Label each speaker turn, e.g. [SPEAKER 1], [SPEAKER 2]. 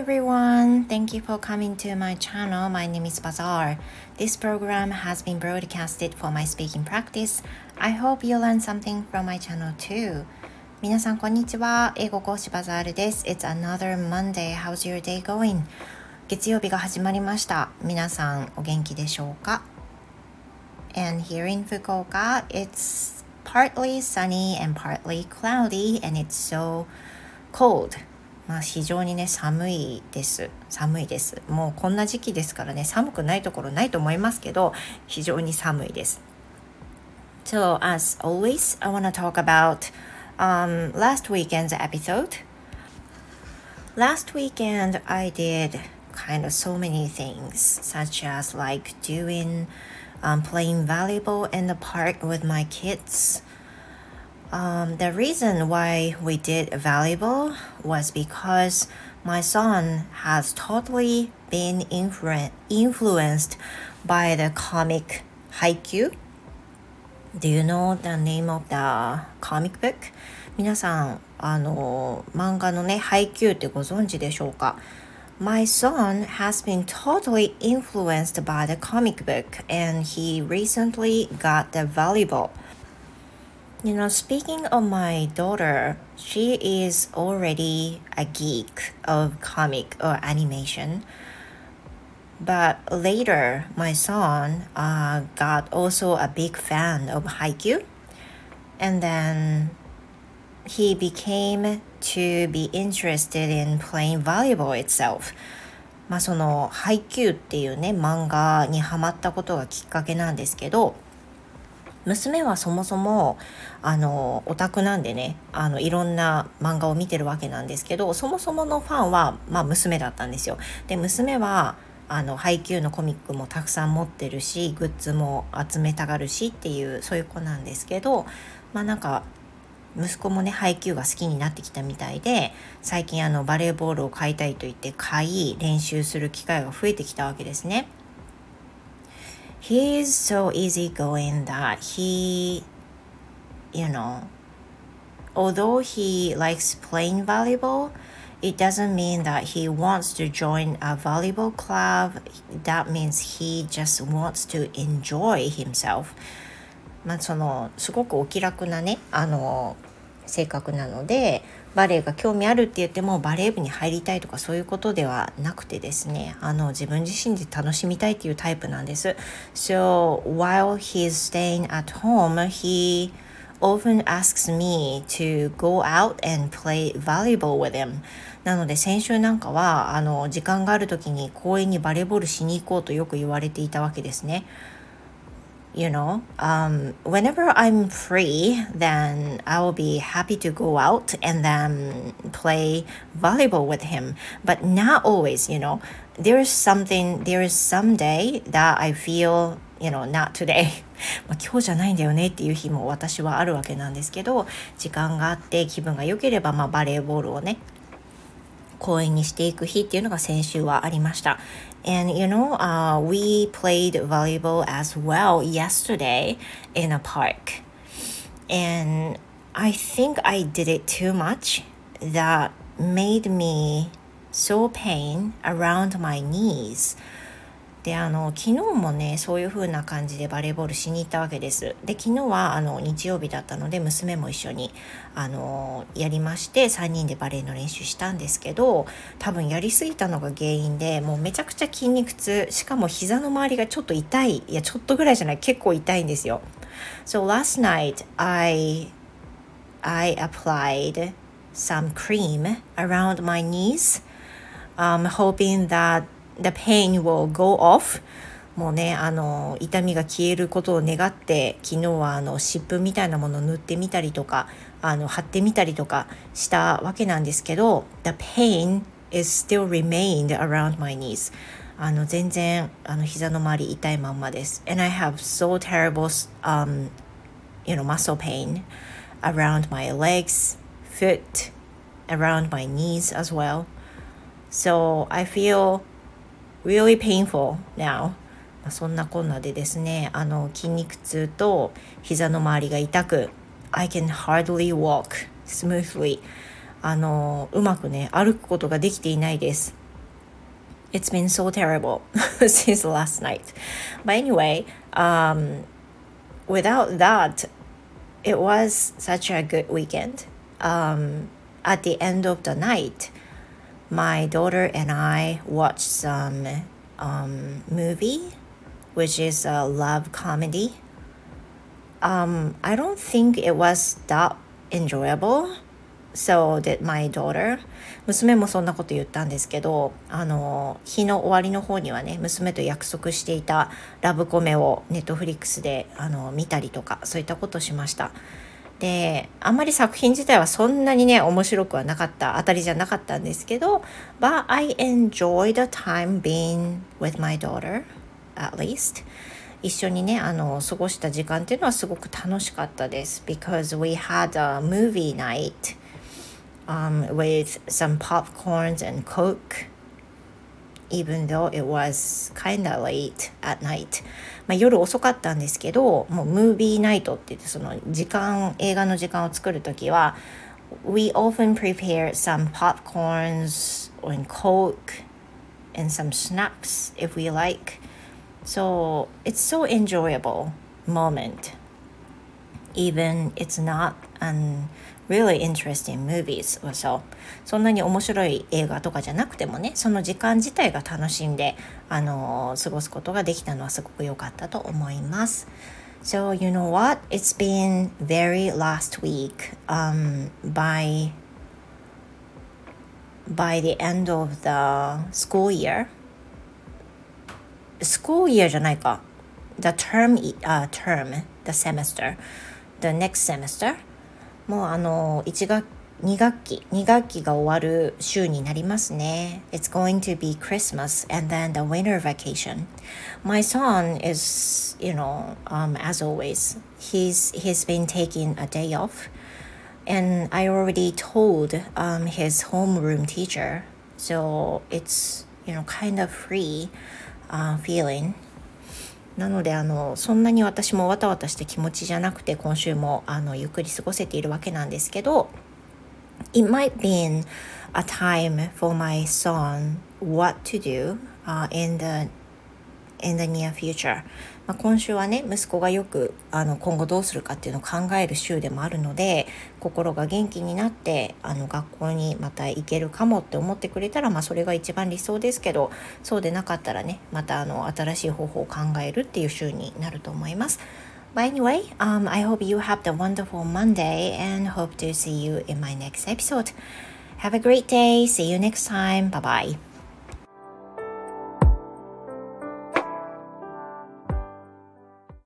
[SPEAKER 1] everyone, thank you for coming to my channel. My name is Bazaar. This program has been broadcasted for my speaking practice. I hope you learn something from my channel too. 皆さんこんにちは。英語講師バザールです。It's another Monday. How's your day going? 月曜日が始まりました。皆さんお元気でしょうか？ And here in Fukuoka, it's partly sunny and partly cloudy and it's so cold.非常にね寒いです。もうこんな時期ですからね、寒くないところないと思いますけど、非常に寒いです。So as always, I want to talk about last weekend's episode. Last weekend I did kind of so many things, such as like doing playing volleyball in the park with my kids.The reason why we did volleyball was because my son has totally been influenced by the comic Haikyuu. Do you know the name of the comic book? 皆さん、漫画のね、Haikyuuってご存知でしょうか？ My son has been totally influenced by the comic book and he recently got the volleyball.You know, speaking of my daughter, she is already a geek of comic or animation. But later, my son got also a big fan of Haikyuu. And then he became to be interested in playing volleyball itself. そのHaikyuuっていうね、漫画にハマったことがきっかけなんですけど、娘はそもそもオタクなんでね、いろんな漫画を見てるわけなんですけど、そもそものファンは、娘だったんですよ。で、娘はハイキューのコミックもたくさん持ってるし、グッズも集めたがるしっていう、そういう子なんですけど、なんか息子もねハイキューが好きになってきたみたいで、最近バレーボールを買いたいと言って買い、練習する機会が増えてきたわけですね。He is so easygoing that he, although he likes playing volleyball, it doesn't mean that he wants to join a volleyball club. That means he just wants to enjoy himself. すごくお気楽なね、性格なので、バレエが興味あるって言ってもバレー部に入りたいとかそういうことではなくてですね、自分自身で楽しみたいっていうタイプなんです。So while he's staying at home, he often asks me to go out and play volleyball with him. なので先週なんかは時間がある時に公園にバレーボールしに行こうとよく言われていたわけですね。Whenever I'm free, then I will be happy to go out and then play volleyball with him. But not always, there is some day that I feel, not today. 今日じゃないんだよねっていう日も私はあるわけなんですけど、時間があって気分が良ければ、バレーボールをね、公園にしていく日っていうのが先週はありました。And we played volleyball as well yesterday in a park. And I think I did it too much. That made me so pain around my knees.で昨日もねそういう風な感じでバレーボールしに行ったわけです。で昨日は日曜日だったので娘も一緒にやりまして、3人でバレーの練習したんですけど、多分やりすぎたのが原因でもうめちゃくちゃ筋肉痛、しかも膝の周りがちょっと痛い、いやちょっとぐらいじゃない、結構痛いんですよ。So last night I applied some cream around my knees, hoping that the pain will go off. もうね痛みが消えることを願って昨日は湿布みたいなものを塗ってみたりとか貼ってみたりとかしたわけなんですけど、 The pain is still remained around my knees. 全然膝の周り痛いまんまです。 And I have so terrible muscle pain around my legs, foot, around my knees as well. So I feel really painful now. そんなこんなでですね、筋肉痛と膝の周りが痛く、I can hardly walk smoothly. うまくね歩くことができていないです。 It's been so terrible since last night. But anyway, without that, it was such a good weekend. At the end of the night, my daughter and I watched some movie, which is a love comedy. I don't think it was that enjoyable. So did my daughter. 娘もそんなこと言ったんですけど、日の終わりの方にはね、娘と約束していたラブコメをネットフリックスで見たりとか、そういったことをしました。で、あんまり作品自体はそんなにね、面白くはなかった、当たりじゃなかったんですけど、But I enjoyed the time being with my daughter, at least. 一緒にね、過ごした時間っていうのはすごく楽しかったです。Because we had a movie night、with some popcorns and Coke, even though it was kinda late at night. 夜遅かったんですけど、もうムービーナイトって言って、その映画の時間を作るときは、We often prepare some popcorns and Coke and some snacks if we like.So it's so enjoyable moment, even it's not an really interesting movies. So そんなに面白い映画とかじゃなくてもね、その時間自体が楽しんで、過ごすことができたのはすごく良かったと思います。So you know what? It's been very last week. By the end of the school year.School year じゃないか。The term, the semester, the next semester. もう2学期が終わる週になりますね。It's going to be Christmas and then the winter vacation. My son is, as always, he's been taking a day off. And I already told his homeroom teacher. So it's, kind of free.feeling なのでそんなに私もわたわたして気持ちじゃなくて今週もゆっくり過ごせているわけなんですけど It might be a time for my son what to do、in the near future、今週はね息子がよく今後どうするかっていうのを考える週でもあるので心が元気になって学校にまた行けるかもって思ってくれたら、それが一番理想ですけどそうでなかったらねまた新しい方法を考えるっていう週になると思います。But anyway, I hope you have the wonderful Monday and hope to see you in my next episode. Have a great day. See you next time. Bye bye.